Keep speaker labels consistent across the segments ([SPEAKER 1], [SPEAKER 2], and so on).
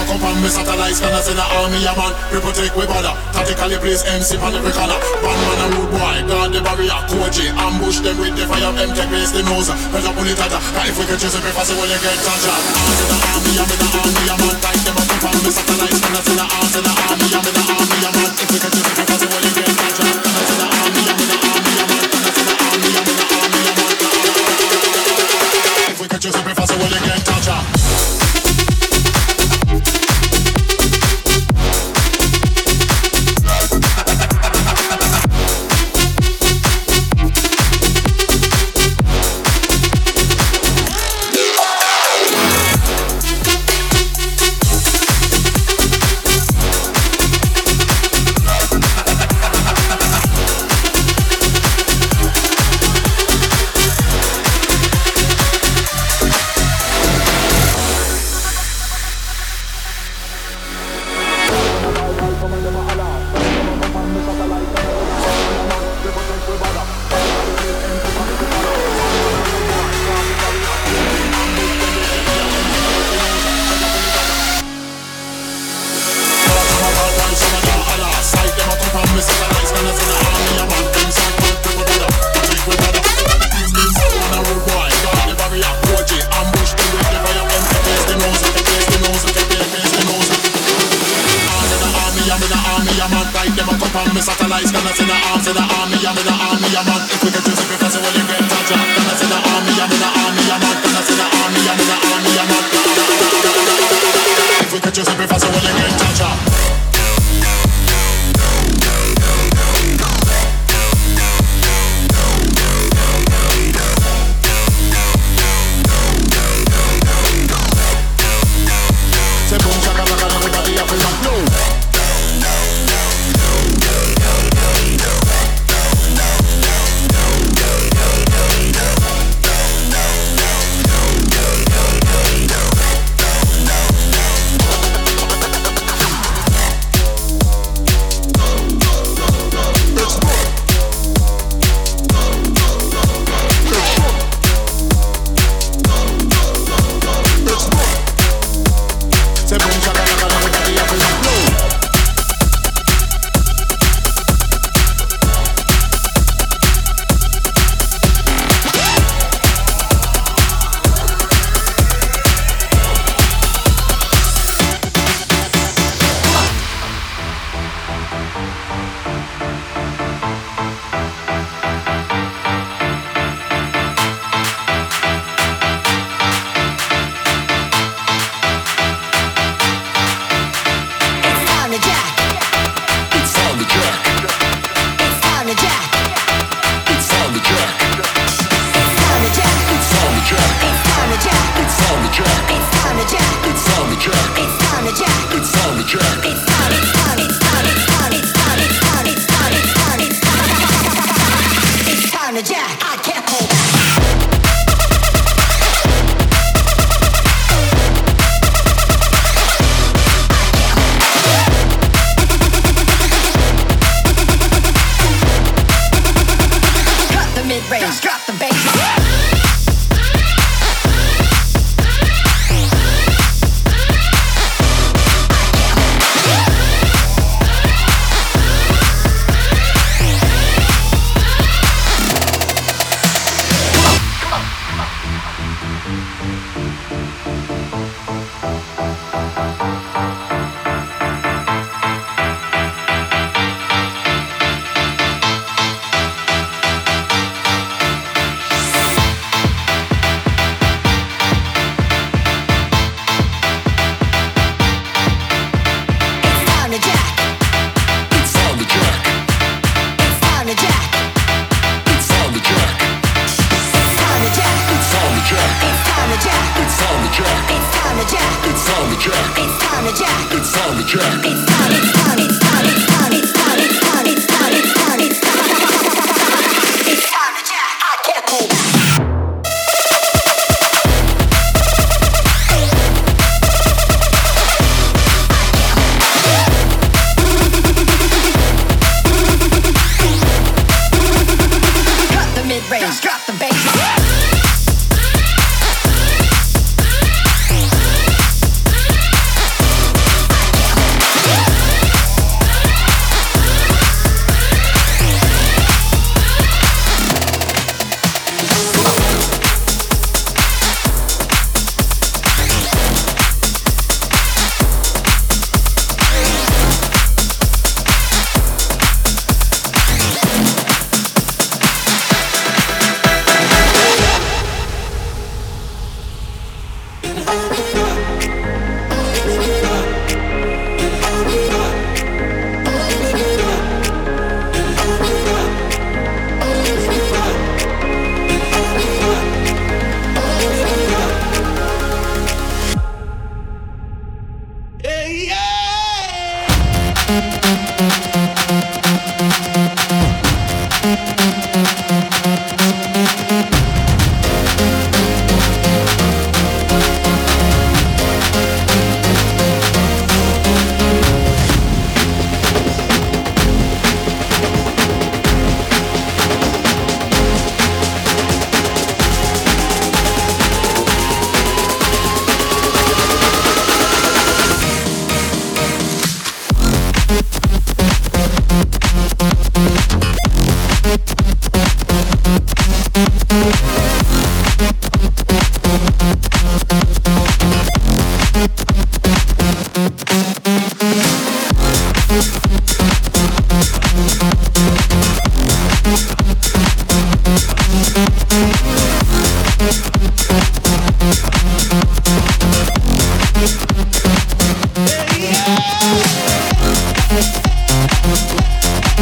[SPEAKER 1] up on me satellites, can I say the army a man? People take we bother, tactically place MC on every corner. Bandman and rude boy, guard the barrier, Koji, ambush them with the fire, them take base the nose. Better pull it at her, if we can chase it before when you get touched. Arms in the army, I'm in the army a man. Tight them up on me satellites, can I say the arms in the army, I'm in the army a man. If we can chase it before when you get touched. Can I say the army, I'm in the army a man. Can I say the army, I'm in the army a man. If we can chase it before when you get touched.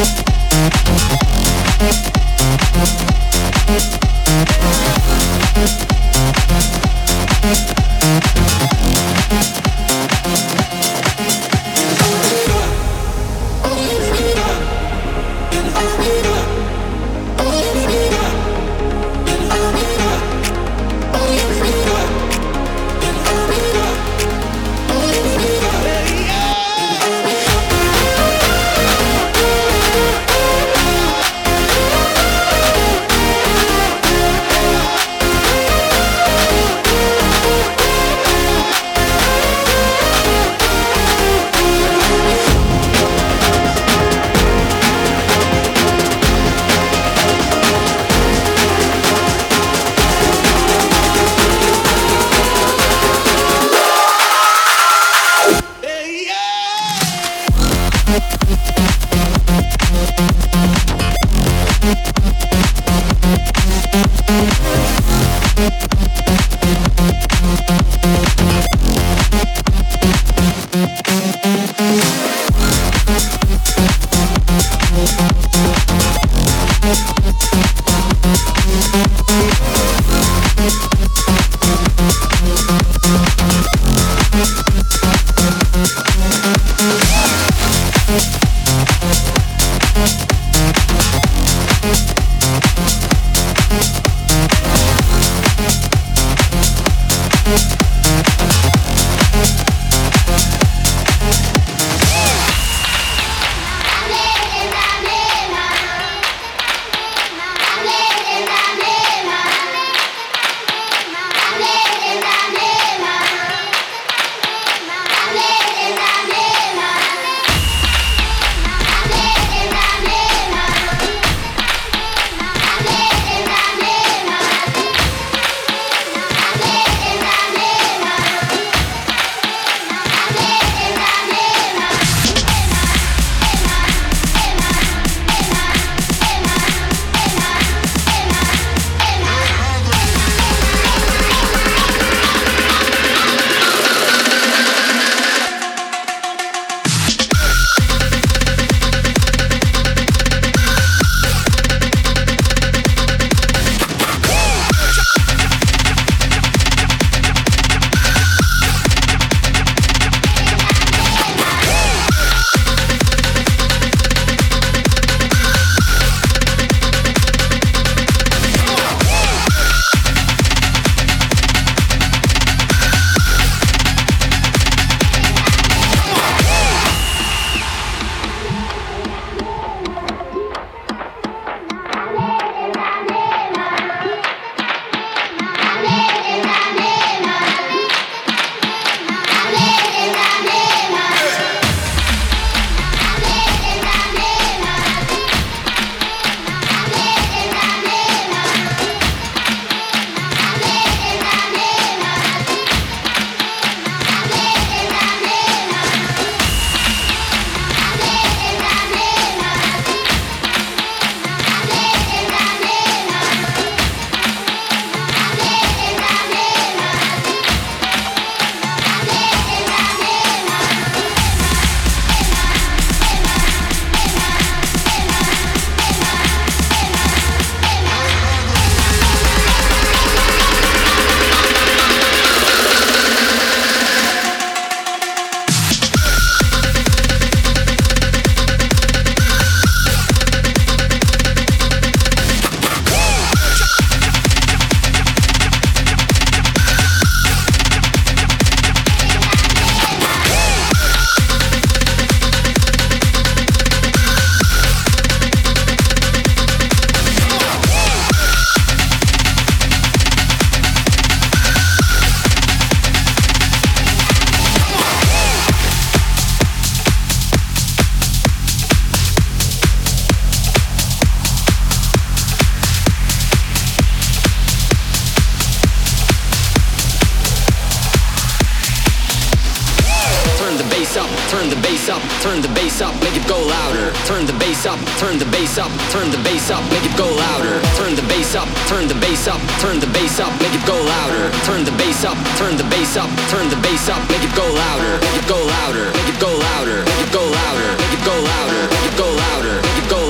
[SPEAKER 2] turn the bass up, turn the bass up, make it go louder. Turn the bass up, turn the bass up, turn the bass up, make it go louder. Turn the bass up, turn the bass up, turn the bass up, make it go louder. Turn the bass up, turn the bass up, turn the bass up, make it go louder. Make it go louder, make it go louder, make it go louder, make it go louder, make it go louder, make it go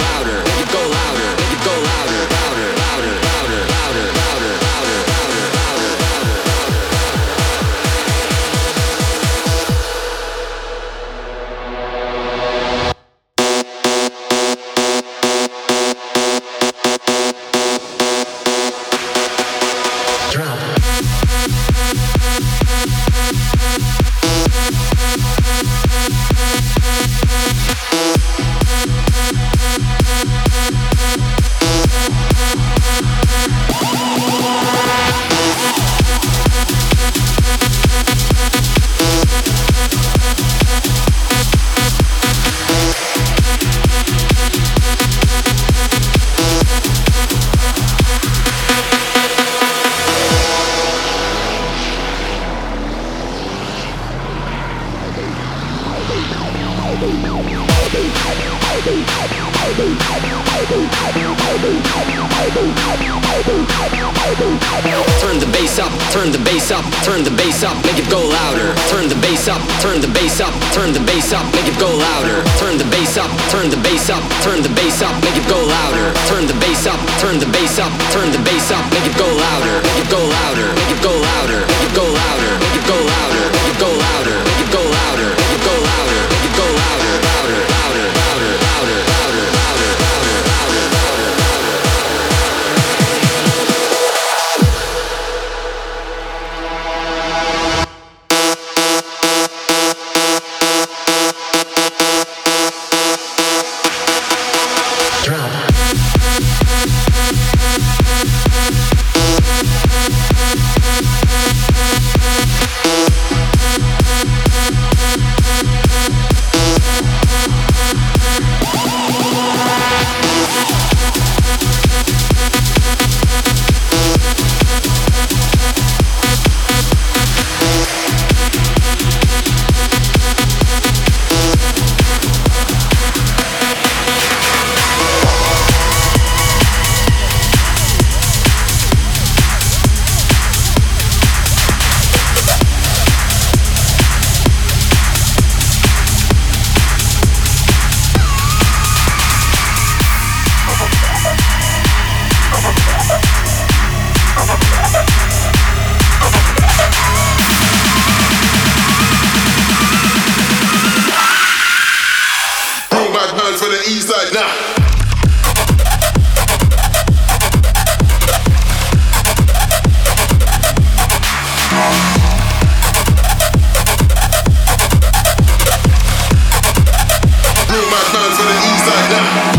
[SPEAKER 2] Turn the bass up, turn the bass up, turn the bass up, make it go louder. Turn the bass up, turn the bass up, turn the bass up, make it go louder. Turn the bass up, turn the bass up, turn the bass up, make it go louder. Turn the bass up, turn the bass up, turn the bass up, make it go louder. Make it go louder, make it go louder, make it go louder, make it go louder, make it go louder, make it go louder, make it go louder, make it go louder, louder, louder, louder, louder, louder, louder, louder, louder, louder.
[SPEAKER 1] For the east side now. Bring my guns for the east side now.